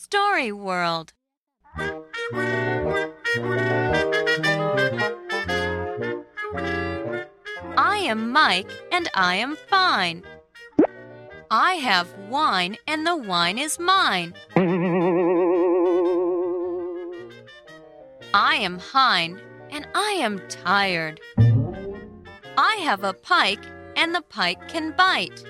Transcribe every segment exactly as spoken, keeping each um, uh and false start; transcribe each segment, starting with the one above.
Story World. I am Mike and I am fine. I have wine and the wine is mine. I am Hein and I am tired. I have a pike and the pike can bite.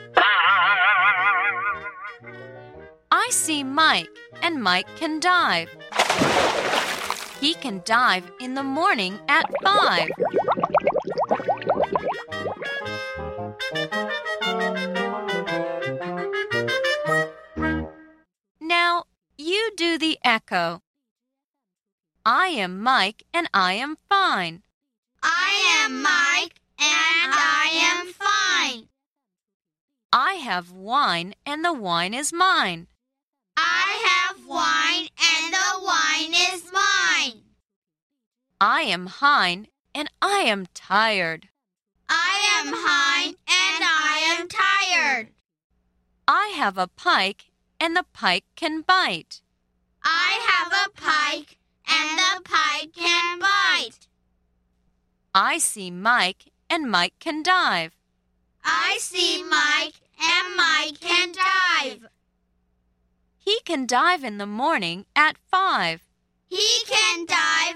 I see Mike and Mike can dive. He can dive in the morning at five. Now, you do the echo. I am Mike and I am fine. I am Mike and I am fine. I have wine and the wine is mine. I have wine and the wine is mine. I am Hein and I am tired. I am Hein and I am tired. I have a pike and the pike can bite. I have a pike and the pike can bite. I see Mike and Mike can dive. I see Mike and Mike can dive. He can dive in the morning at five. He can dive